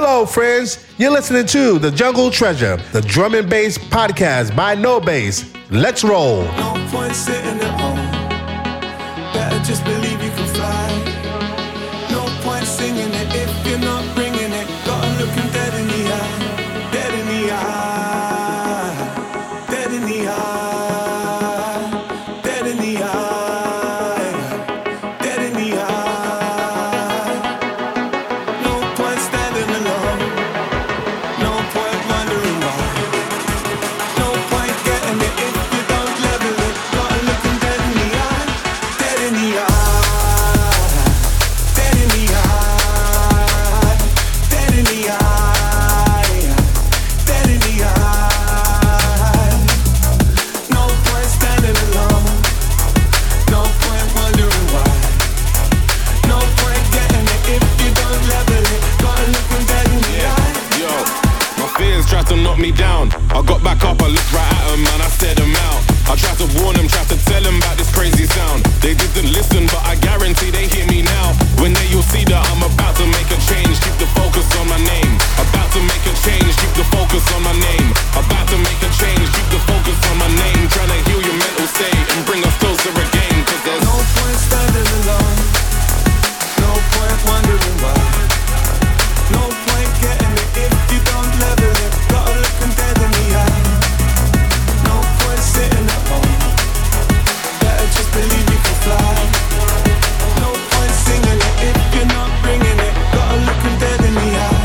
Hello, friends. You're listening to The Jungle Treasure, the drum and bass podcast by No Bass. Let's roll. No point sitting at home. Better just believe you can fly. No point singing it if you're not bringing it. Gotta look him dead in the eye. Dead in the eye. Dead in the eye. Dead in the eye. Dead in the eye. No point standing alone. No point wondering why. No point getting it if you don't level it. Gotta look him dead in the eye. Dead in the eye. Dead in the eye. Dead in the eye. Dead in the eye. No point standing alone. No point wondering why. No point getting it if you don't level it. Gotta look him dead in the eye. Yo, my fears tried to knock me down. I got back up, I looked right at them and I stared them out. I tried to warn them, tried to tell them about this crazy sound. They didn't listen, but I guarantee they hear me now. When they you'll see that I'm about to make a change. Keep the focus on my name. About to make a change, keep the focus on my name. About to make a change, keep the focus on my name. Trying to heal your mental state and bring us closer again. Cause there's No point standing alone. No point wondering why. No point getting it if you don't level it. Gotta look him dead in the eye. No point sitting at home. Better just believe you can fly. No point singing it if you're not bringing it. Gotta look him dead in the eye.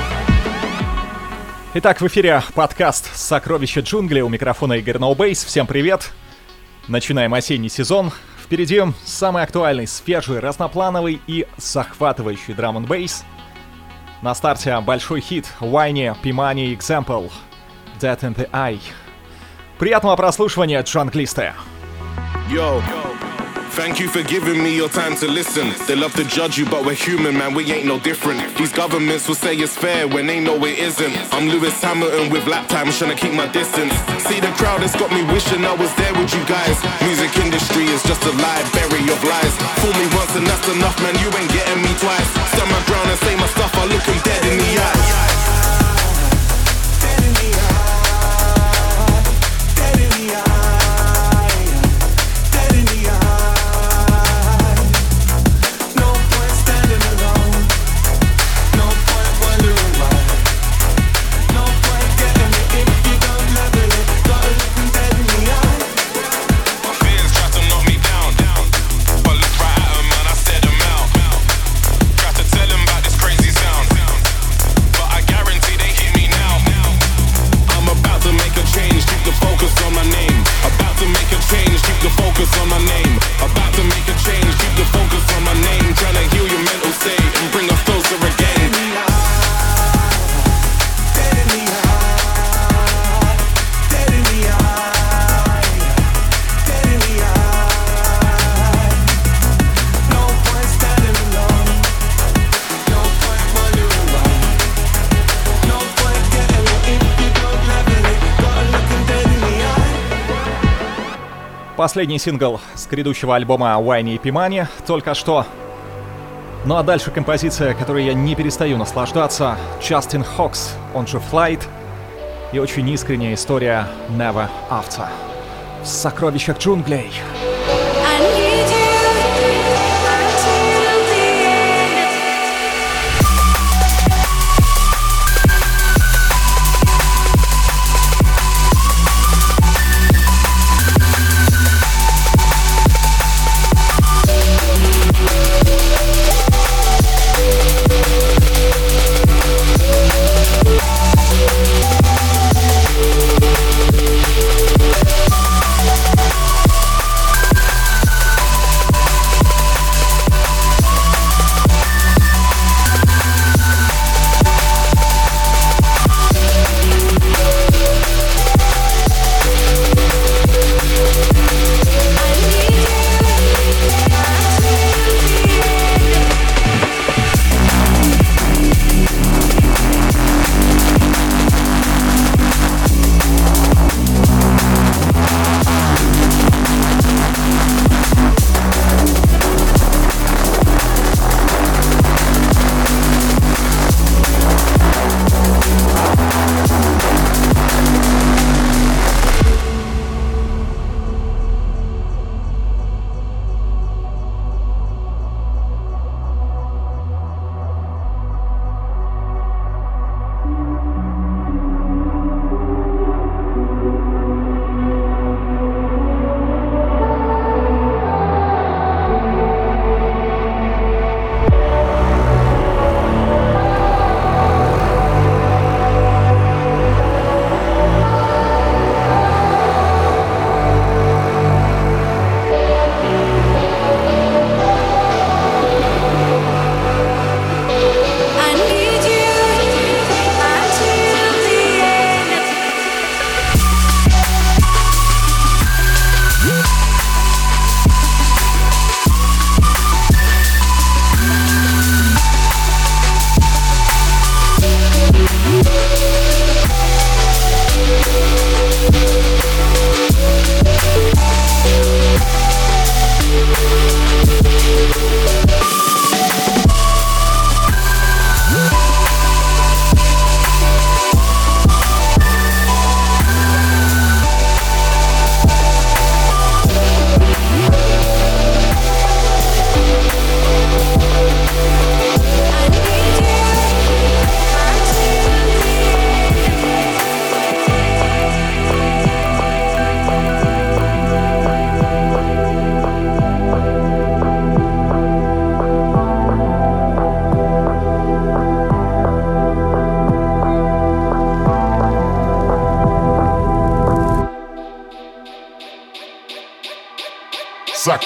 Итак, в эфире подкаст «Сокровища джунглей». У микрофона Игорь No Bass. Всем привет! Начинаем осенний сезон. Впереди самый актуальный, свежий, разноплановый и захватывающий драм-н-бейс. На старте большой хит Wayne Pimani Example Dead in the Eye. Приятного прослушивания, джанглисты! Yo, thank you for giving me your time to listen. They love to judge you, but we're human, man, we ain't no different. These governments will say it's fair when they know it isn't. I'm Lewis Hamilton with lap times trying to keep my distance. See the crowd, it's got me wishing I was there with you guys. Music industry is just a library of lies. Fool me once and that's enough, man, you ain't getting me twice. Stand my ground and say my stuff, I look him dead in the eye. Dead in the eye. Dead in the eye. Dead in the eye. No point standing alone. No point wondering why. No point getting it if you don't level it. Gotta look him dead in the eye. My fears tried to knock me down, but look right at them and I stared them out. Tried to tell them about this crazy sound, but I guarantee they hear me now. I'm about to make a change, keep the focus on my name. About to make a change, keep the focus on my name. About to make a change, keep the focus on my name. Trying to heal your mental state and bring us closer again. Dead in the eye. Dead in the eye. Dead in the eye. No point standing alone. No point wondering why. No point getting it if you don't level it. Gotta look him dead in the eye. Последний сингл с грядущего альбома Wayne Pimani только что. Ну а дальше композиция, которой я не перестаю наслаждаться. Justin Hawks, он же Flight. И очень искренняя история Never After. В сокровищах джунглей. I need you until the end.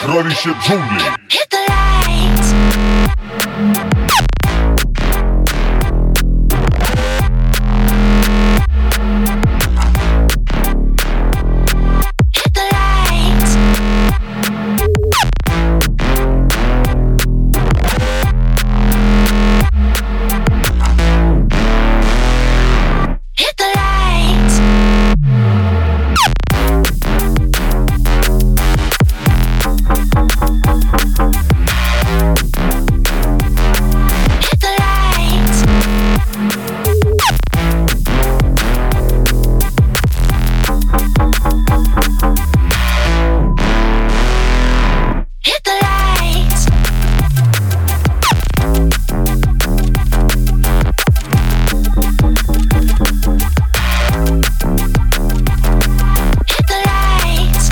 Сокровище джунглей. Hit the lights. Hit the lights. Hit the lights. Hit the lights. Hit the lights. Hit the lights.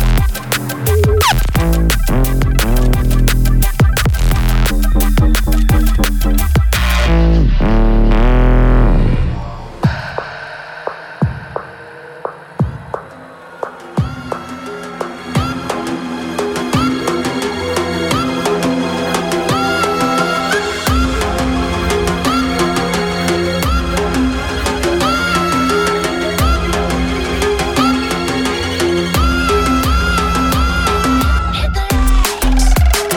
Hit the lights.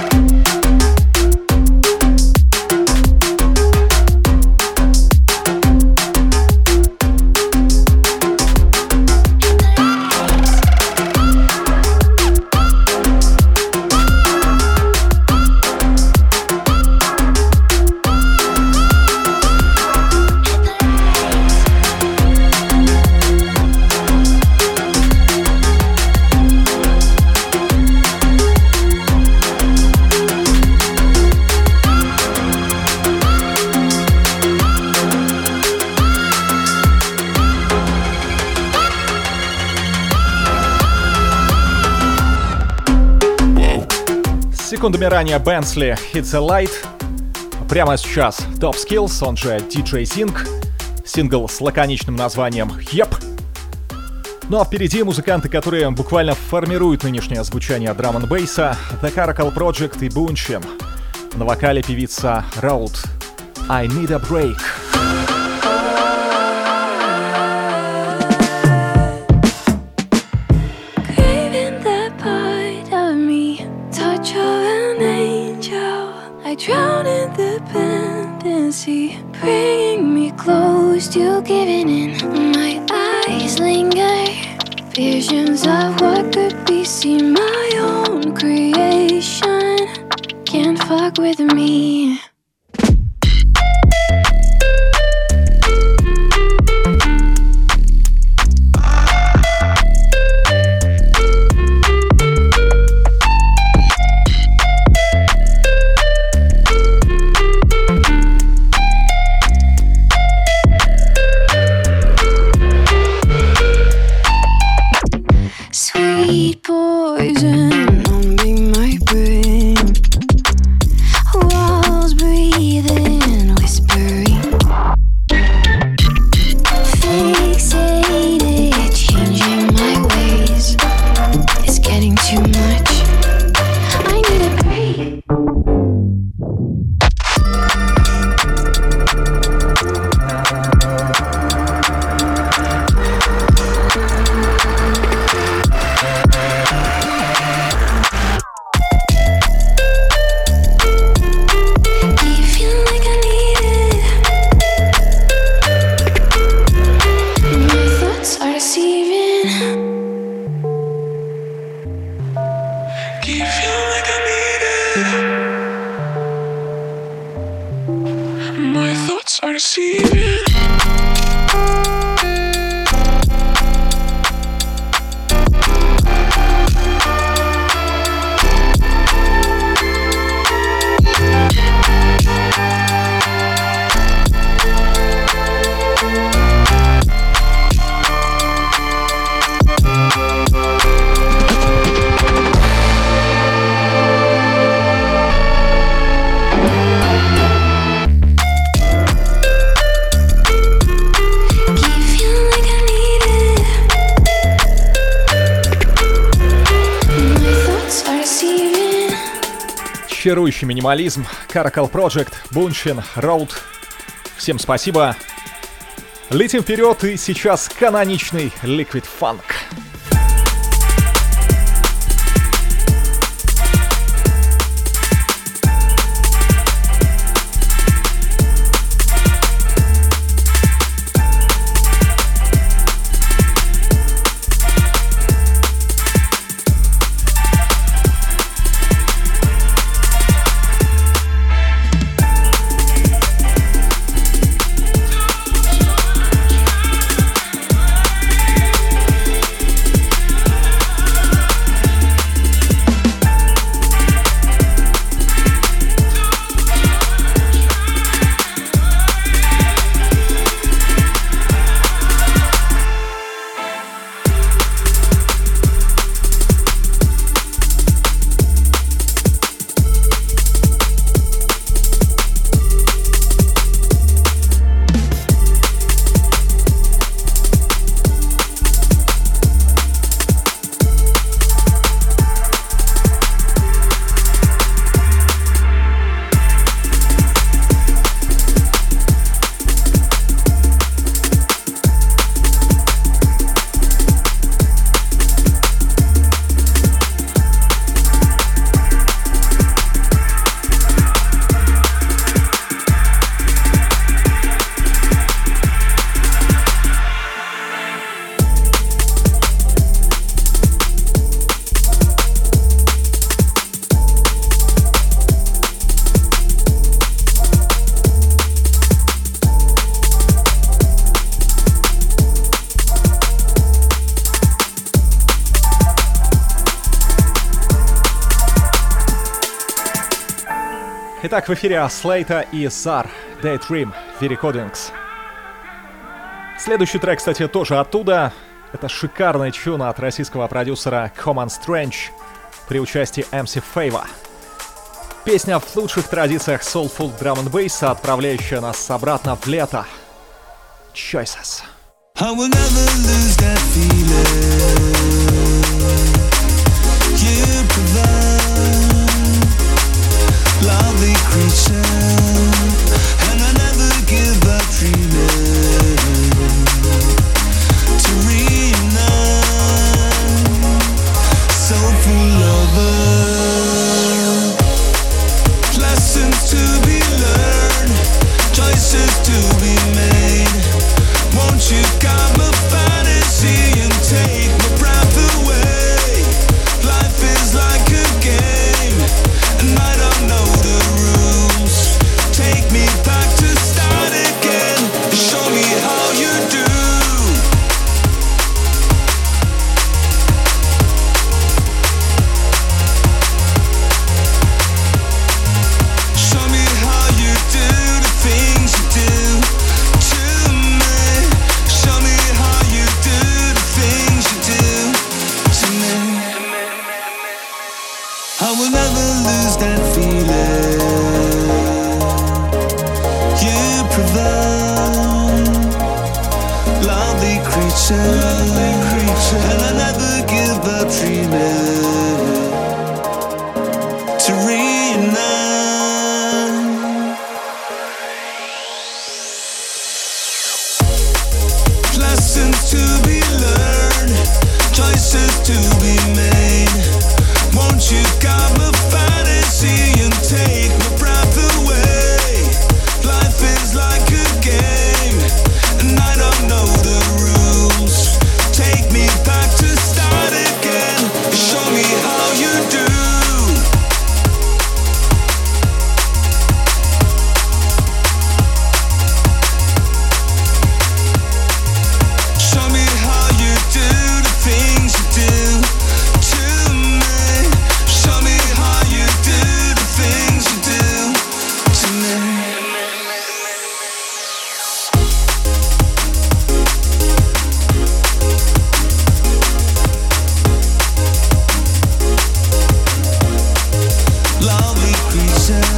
Секундами ранее Bensley Hits a Light. Прямо сейчас Top Skills, он же DJ Sing. Сингл с лаконичным названием Yep. Ну а впереди музыканты, которые буквально формируют нынешнее звучание драм-н-бейса. The Caracal Project и Bunchim. На вокале певица Road. I Need a Break. Craving that part of me, touch of an angel. I drown in dependency, bringing me close to giving in. My eyes linger, visions of what could be. See my own creation, can't fuck with me. Sweet poison, numbing my brain. Walls breathing, whispering. Fixated, changing my ways. It's getting too much. I need a break. Keep feeling like I need it. My thoughts are deceiving. Keep feeling like I need it. My thoughts are deceiving. чарующий минимализм, Caracal Project, Bunchin, Road. Всем спасибо. Летим вперед, и сейчас каноничный Liquid Funk. Итак, в эфире Слейта и Zar, Daydream, V-Recordings. Следующий трек, кстати, тоже оттуда. Это шикарный чун от российского продюсера Common Strange при участии MC Favor. Песня в лучших традициях Soulful Drum and Bass, отправляющая нас обратно в лето. Choices. I will never lose that feeling you provide, lovely creature, and I never give up dreaming to reunite, soulful lover, lessons to be learned, choices to be made. Won't you guide my fantasy and take my breath away? Life is like a game, and I don't know the rules. Take me back to start again, and show me how you do. Show me how you do the things you do to me. Show me how you do the things you do to me. I will never lose that feeling you provide, lovely creature, and I never give up dreaming to reunite, lessons to be learned, choices to be made. Won't you guide my fantasy and take my breath away? Life is like a game, and I don't know the rules. Take me back to start again, show me how you do. Show me how you do the things you do to me. Show me how you do the things you do to me. Lovely creature,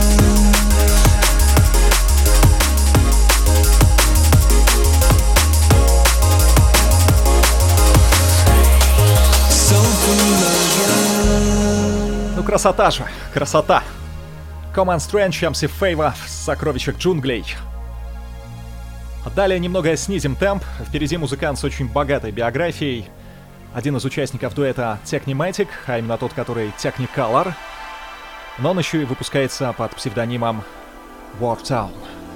soulful lover. Ну, красота же, красота. Common Strange, MC Favour, «Сокровищах джунглей». Далее немного снизим темп. Впереди музыкант с очень богатой биографией. Один из участников дуэта Technimatic, а именно тот, который Technicolor. Но он еще и выпускается под псевдонимом Wartown.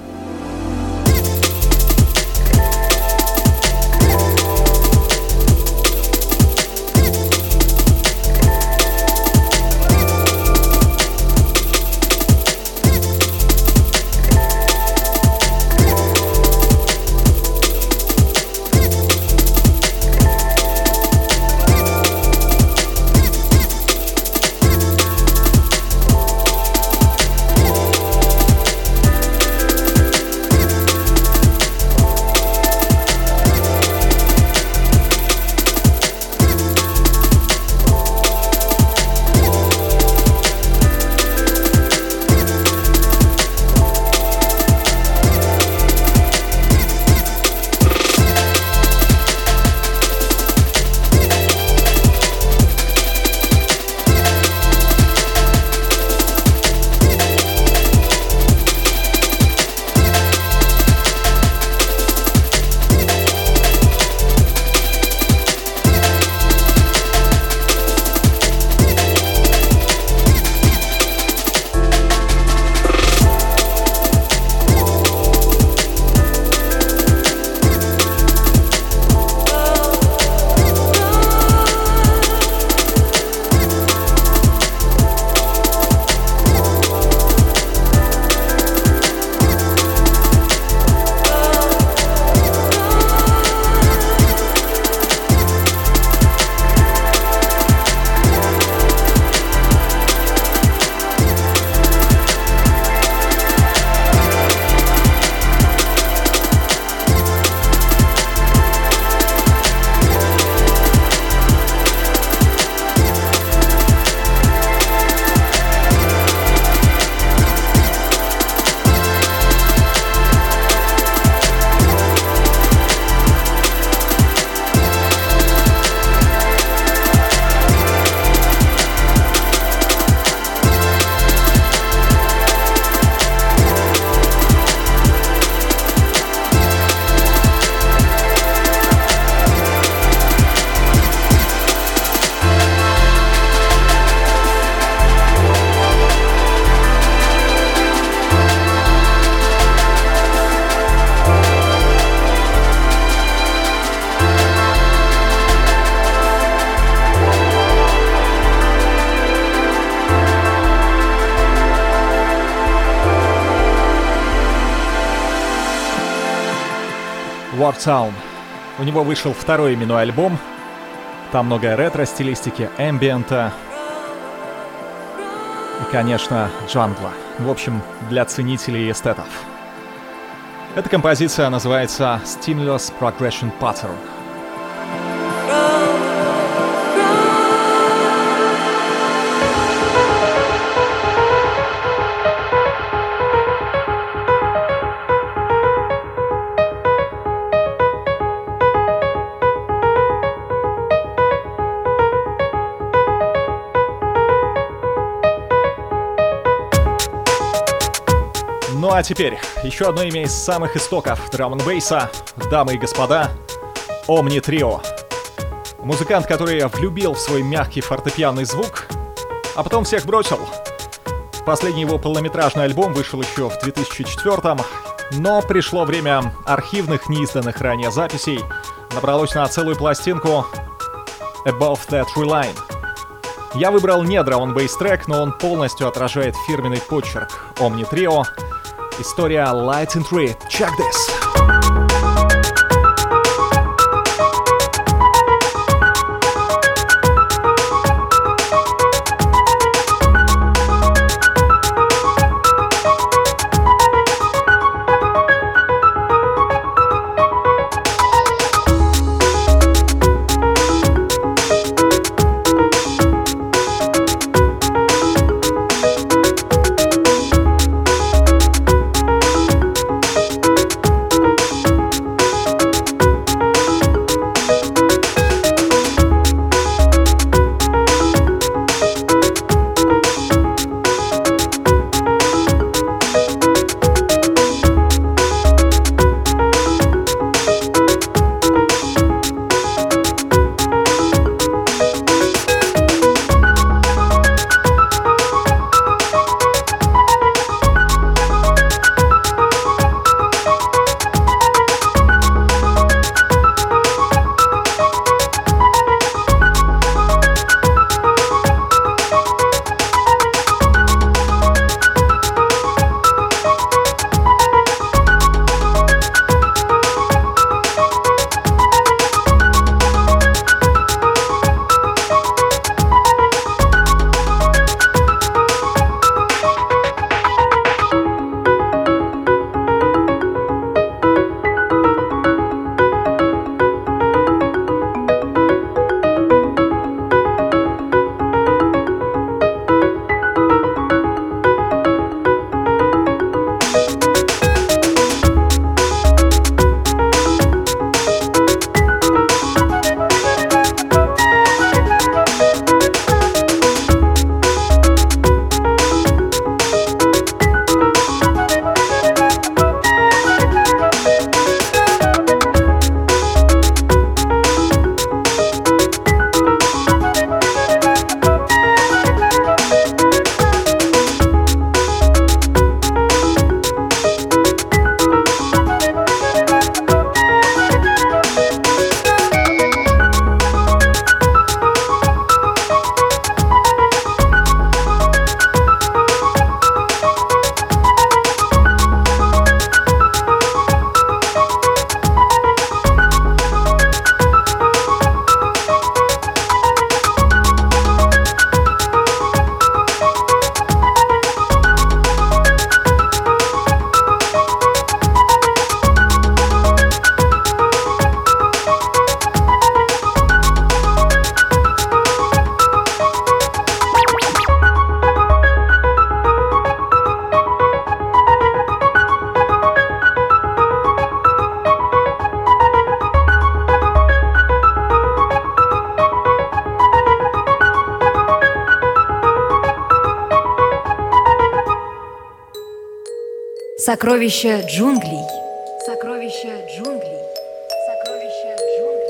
Wartown. У него вышел второй именной альбом. Там много ретро-стилистики, эмбиента и, конечно, джангла. В общем, для ценителей и эстетов. Эта композиция называется Stimulus Progression Pattern. Ну а теперь еще одно имя из самых истоков драм-н-бейса, дамы и господа, Omni Trio. Музыкант, который влюбил в свой мягкий фортепианный звук, а потом всех бросил. Последний его полнометражный альбом вышел еще в 2004-м, но пришло время архивных, неизданных ранее записей, набралось на целую пластинку Above That Tree Line. Я выбрал не драм-н-бейс трек, но он полностью отражает фирменный почерк Omni Trio. История Light and Tree. Check this! Сокровища джунглей. Сокровища джунглей. Сокровища джунглей.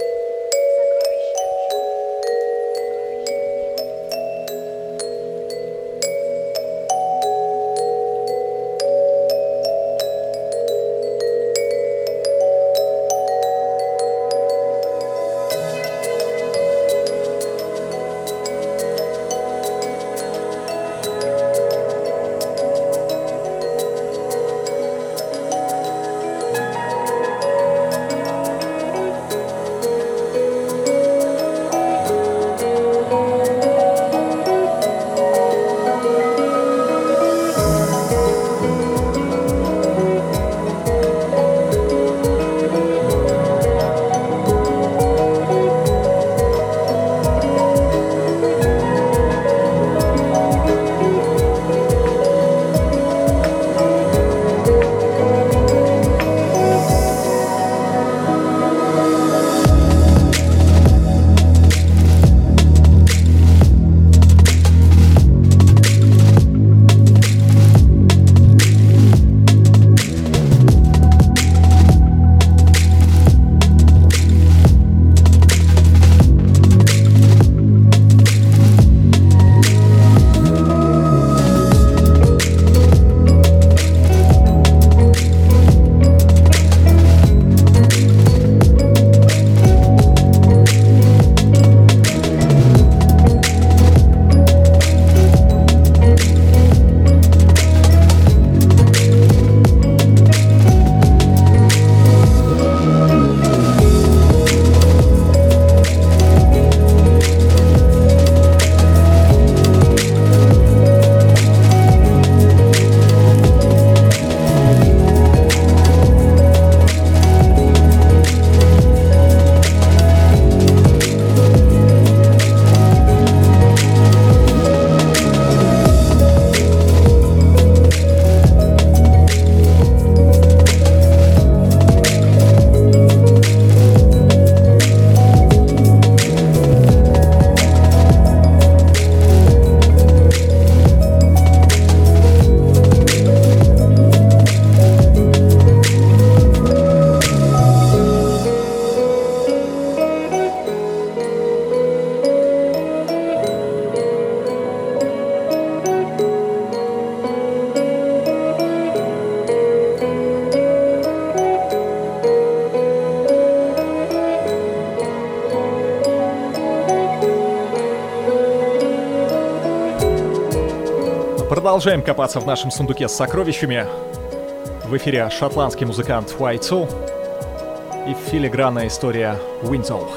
Продолжаем копаться в нашем сундуке с сокровищами. В эфире шотландский музыкант White Soul и филигранная история Windsor.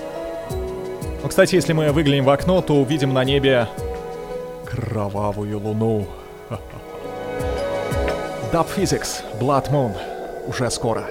Ну, кстати, если мы выглянем в окно, то увидим на небе кровавую луну. Dub Physics, Blood Moon. Уже скоро.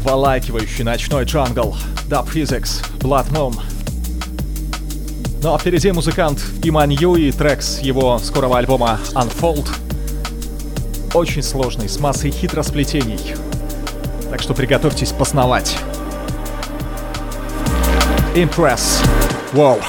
обволакивающий ночной джангл, Dub Physics, Blood Moon. Ну а впереди музыкант Иманью и трек с его скорого альбома Unfold. Очень сложный, с массой хитросплетений. Так что приготовьтесь познавать. Impress. Wow.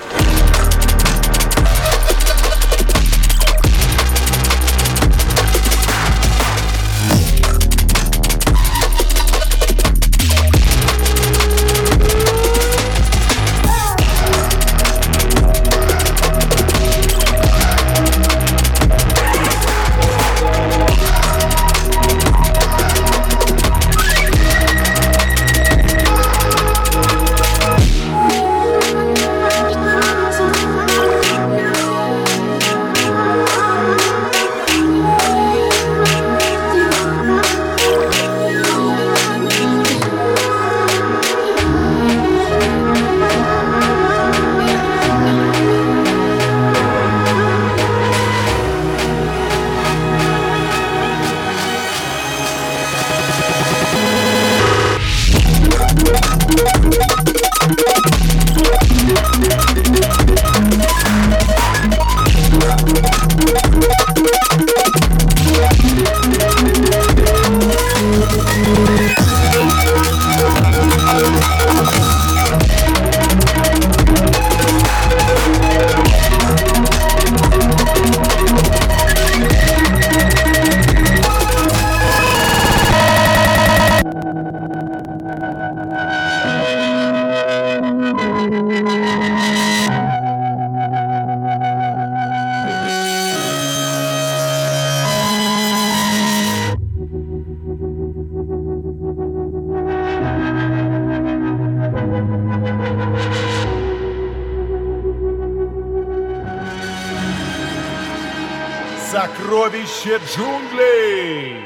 Сокровище джунглей!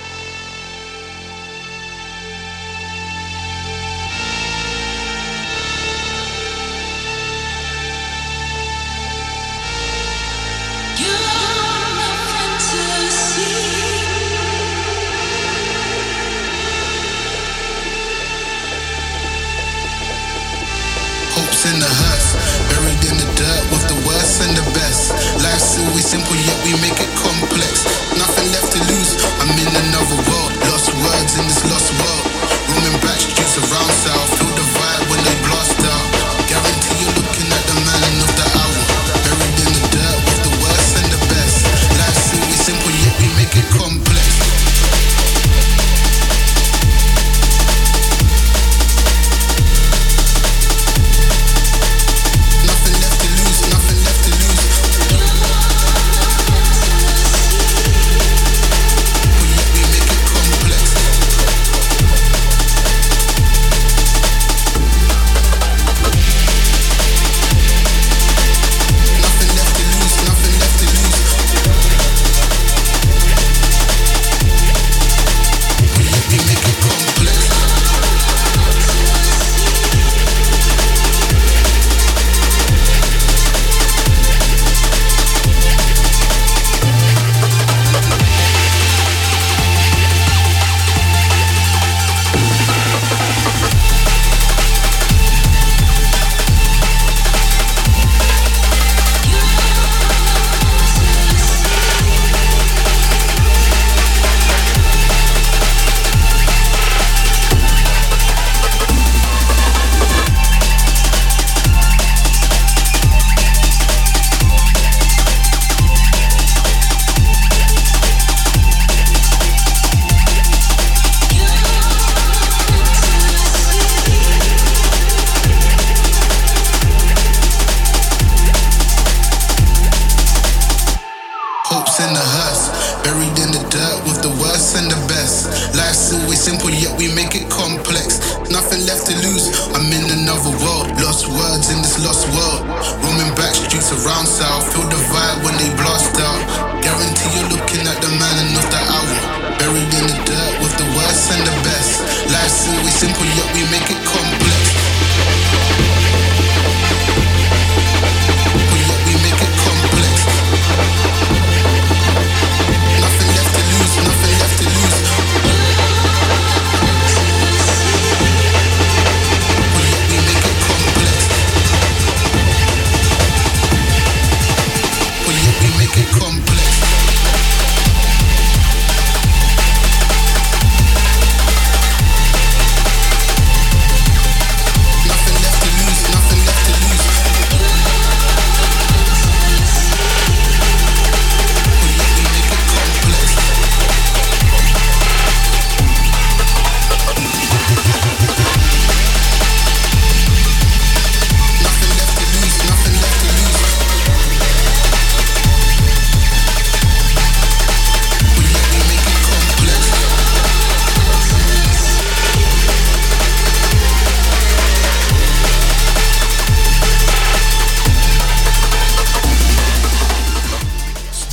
In the hearse, buried in the dirt with the worst and the best. Life's always simple, yet we make it complex. Nothing left to lose, I'm in another world. Lost words in this lost world. Roaming back streets around south. Feel the vibe when they blast out. Guarantee you're looking at the man of the hour. Buried in the dirt with the worst and the best. Life's always simple, yet we make it complex.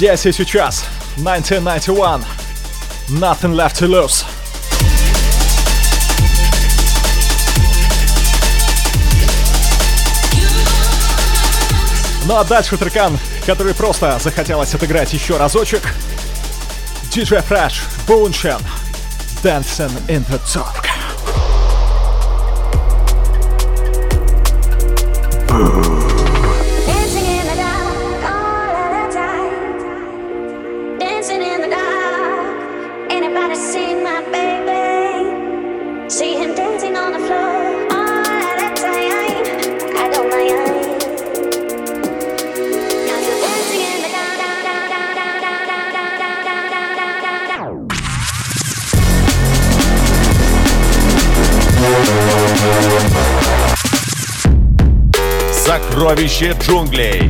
Здесь и сейчас. 1991. Nothing left to lose. Ну а дальше трекан, который просто захотелось отыграть еще разочек. DJ Fresh, Bunchen, Dancing in the Dark. Сокровище джунглей.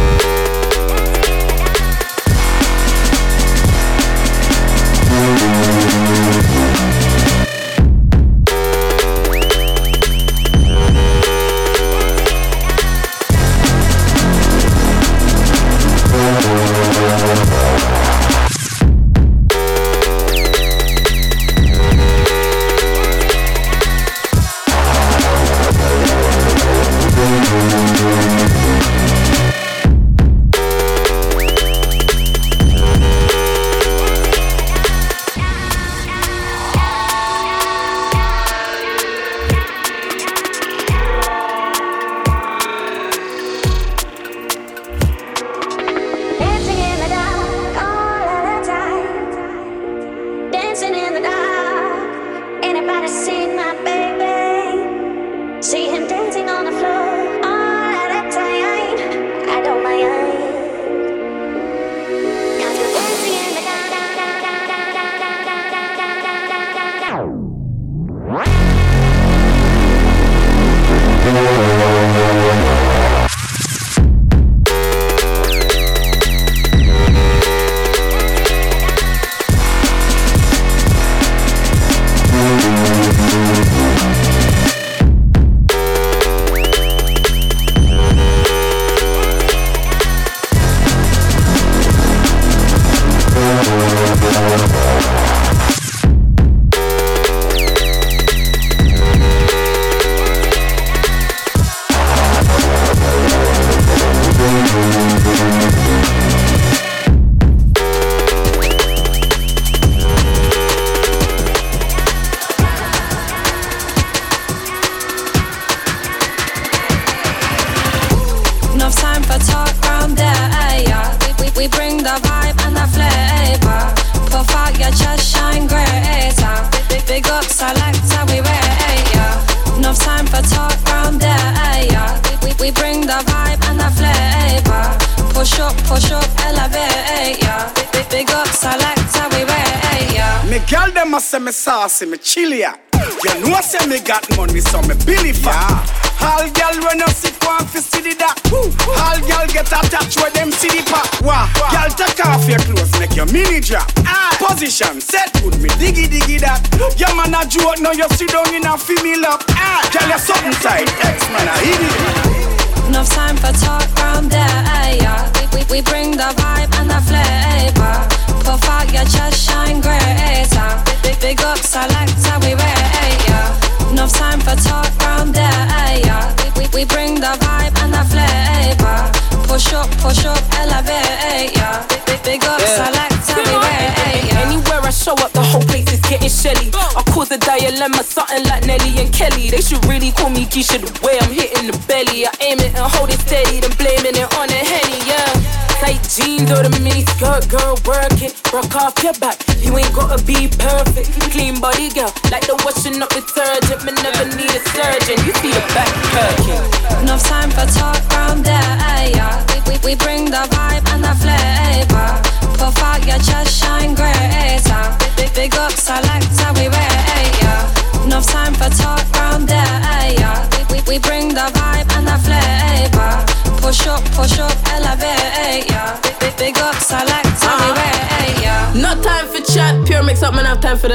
Me saucy, me chilly ya. You know say me got money, so me billy fat. All girl when you sit one fi see the that. All girl get attached when them see the pop. Wow. Girl take off your clothes, make your mini drop. Position set good, me diggy that. Your man a joke, now you sit down in a female up. Girl you something tight, X-Man a idiot. Enough time for talk round there, yeah. We bring the vibe and the flavor. Puff out your chest, shine greater. Big up selector, we rate, yeah. Enough time for talk round there, yeah. We bring the vibe and the flavor. Push up, elevate, yeah. Big up selector, we rate, yeah. Anywhere I show up, the whole place is getting shelly. I cause a dilemma, something like Nelly and Kelly. They should really call me Keisha the way I'm hitting the belly. I aim it and hold it steady, then blaming it on the Henny, yeah. Tight jeans or the mini skirt, girl, work it. Rock off your back, you ain't gotta be perfect. Clean body, girl, like the washing up detergent. Me never need a surgeon, you see the back perking. Enough time for talk round there, yeah. We bring the vibe and the flavor. Puff out your chest, shine greater. Big up selector, we rate, yeah. Enough time for talk round there, yeah. We bring the vibe and the flavor. Push up, elevate, yeah. Big up selector, we rate, yeah. No time for chat, pure mix up, man, have time for that.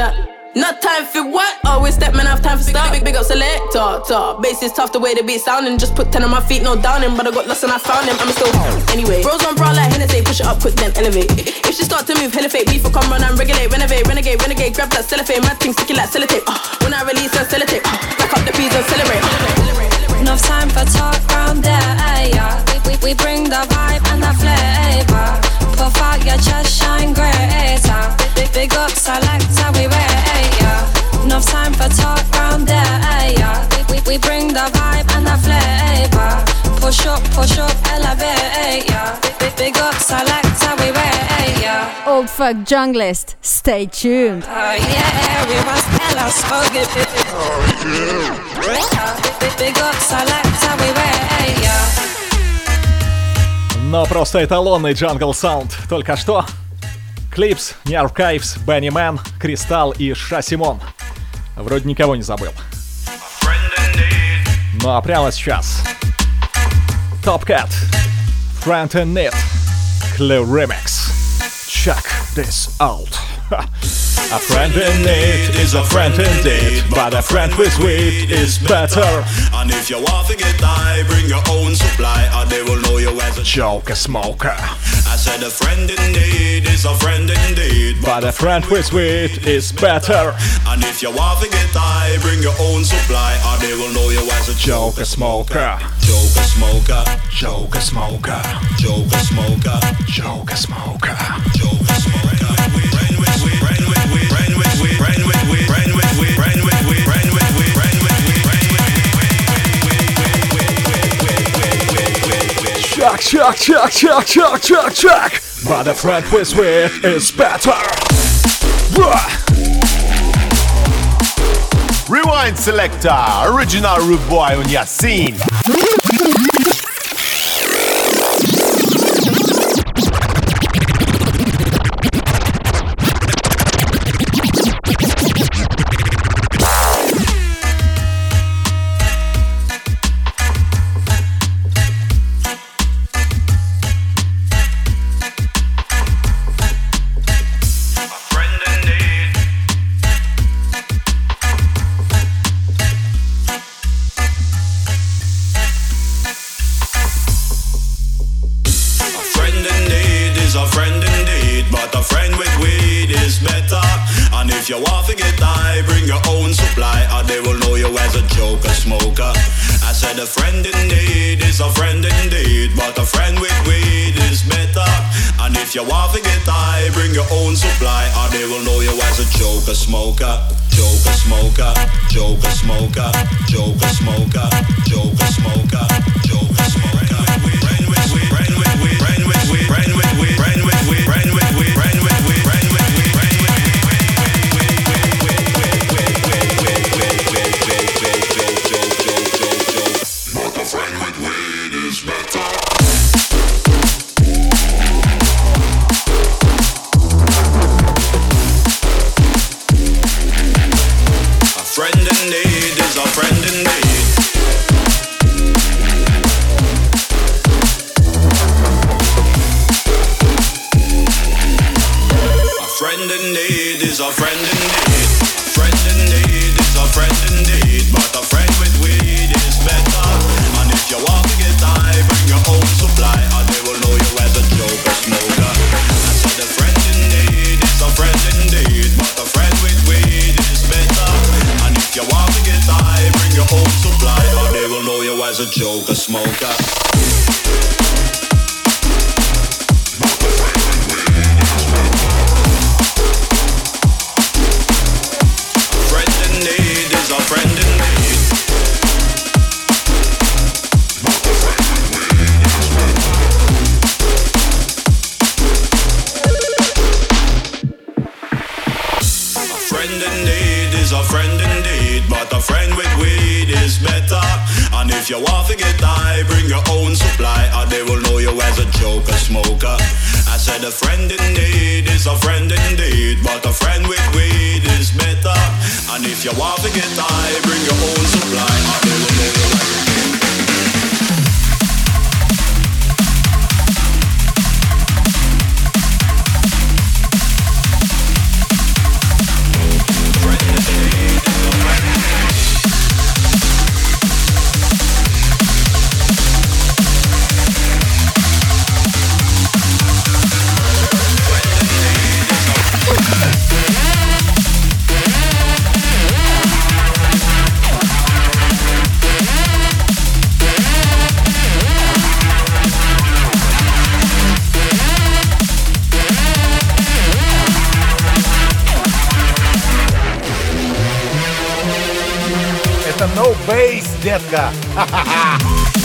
Not time for what? Always step man, have time for stuff. Big up selector, top. Bass is tough the way the beat sounding. Just put 10 on my feet, no downing. But I got lost and I found him. I'm still anyway. Bros on bra like Hennessy, push it up quick then elevate. If she start to move, hella fake. Beef will come run and regulate, renovate, renegade. Grab that cellophane, mad thing sticky like sellotape. When I release and sellotape, back up the peas and celebrate. Enough time for talk round there, yeah. We bring the vibe and the flavor. Puff out your chest, shine greater. Big up selector, we rate, yeah. Enough time for talk round there, yeah. We bring the vibe and the flavor. Push up, elevate, yeah. Big up selector, we rate, yeah. Old Fuck Junglist, stay tuned. Yeah, we was hella spoken. Big up selector, we rate, yeah. Но просто эталонный джангл саунд. Только что Clips, Nerve Caves, Benny Man, Кристалл и Ша Симон. Вроде никого не забыл. Ну а прямо сейчас Top Cat, Friend in Need, Clue Remix. Check this out. A friend in need is a friend indeed, but a friend with weed is better. And if you want to get high, bring your own supply, or they will know you as a joker smoker. I said a friend in need is a friend indeed, but a friend with weed is better. And if you want to get high, bring your own supply, or they will know you as a joker smoker. Joker smoker. Joker smoker. Joker smoker. Joker smoker. Joker smoker. Check. But a friend with weed is better. Rewind selector, original rude boy on your scene. If you want to get high, bring your own supply, or they will know you as a joker smoker. I said a friend in need is a friend indeed, but a friend with weed is better. And if you want to get high, bring your own supply, or they will know you as a joker smoker. Joker smoker, joker smoker, joker smoker, joker smoker, joker smoker. Friend with weed, friend with weed, friend with weed, friend with weed, friend with weed, friend with weed, friend with weed, friend with weed. A friend indeed. Friend indeed is a friend indeed, but a friend with weed is better. And if you want to get high, bring your own supply, or they will know you as a joker smoker. I said a friend indeed is a friend indeed, but a friend with weed is better. And if you want to get high, bring your own supply, or they will know you as a joker smoker. If you want to get high, bring your own supply, or they will know you as a joker smoker. I said a friend in need is a friend indeed, but a friend with weed is better. And if you want to get high, bring your own supply, or they will know you as a friend. No Bass, детка. Ха-ха-ха.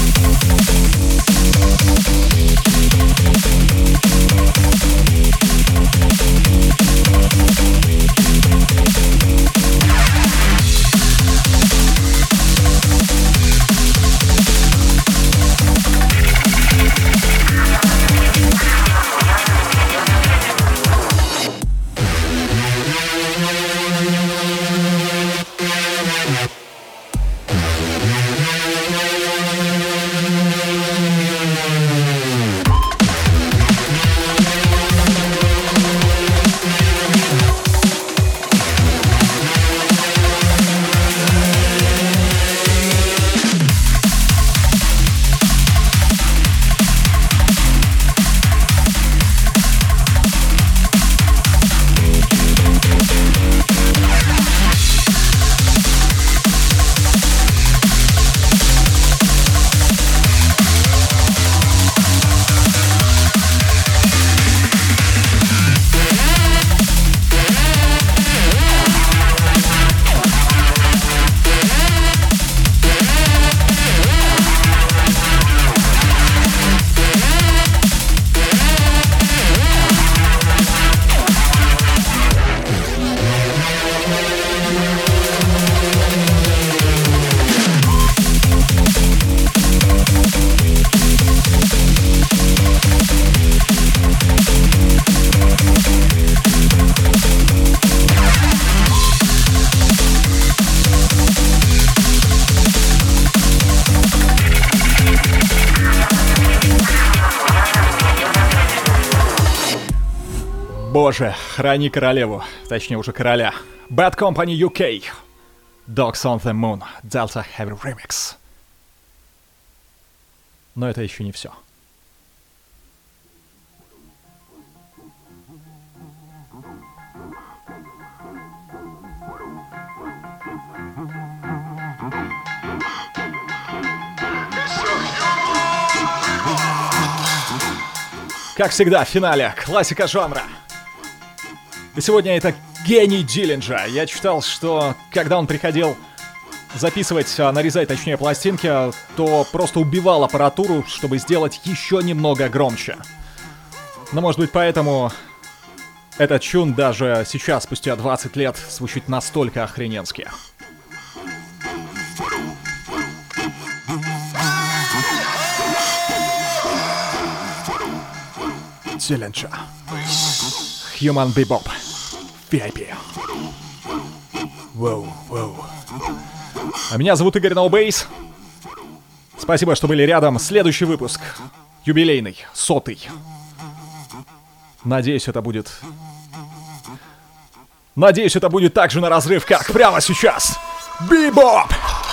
Боже, храни королеву, точнее уже короля. Bad Company UK. Dogs on the Moon. Delta Heavy Remix. Но это еще не все. Как всегда, в финале классика жанра. И сегодня это гений Диллинджа. Я читал, что когда он приходил записывать, нарезать, точнее, пластинки, то просто убивал аппаратуру, чтобы сделать еще немного громче. Но, может быть, поэтому этот чун даже сейчас, спустя 20 лет, звучит настолько охрененски. Диллинджа. Human Bebop. VIP. Воу, воу. А меня зовут Игорь No Bass. Спасибо, что были рядом. Следующий выпуск. Юбилейный. 100-й. Надеюсь, это будет так же на разрыв, как прямо сейчас. Бибоп!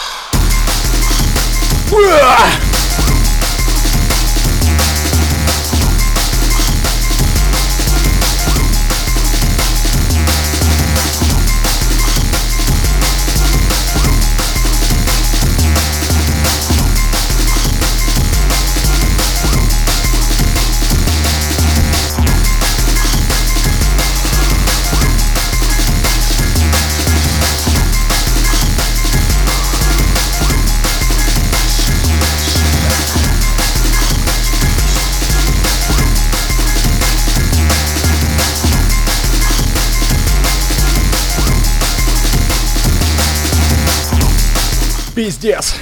Пиздец.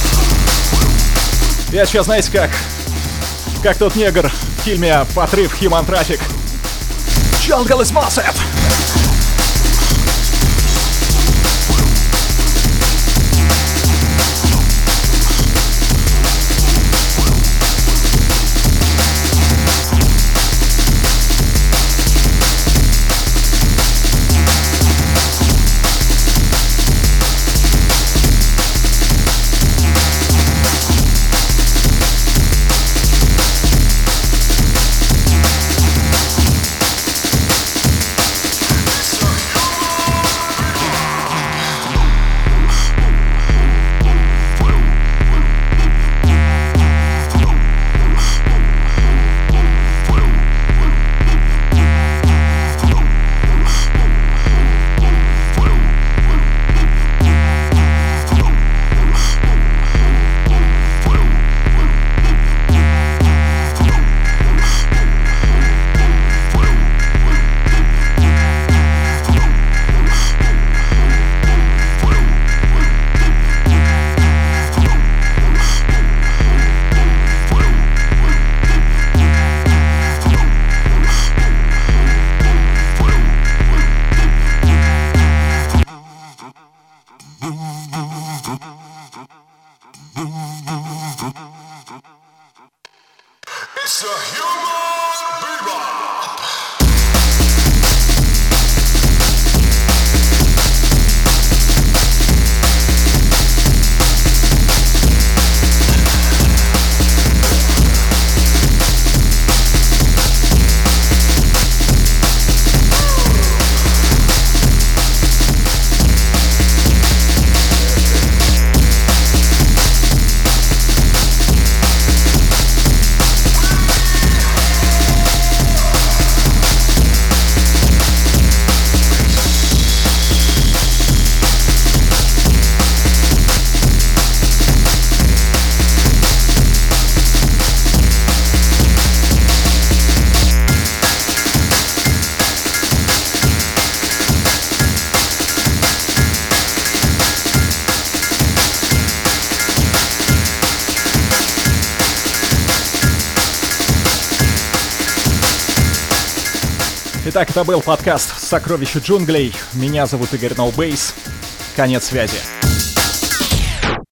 Я сейчас, знаете, как тот негр в фильме «Подрыв Human Traffic». Jungle is massive! Итак, это был подкаст «Сокровища джунглей». Меня зовут Игорь No Bass. Конец связи.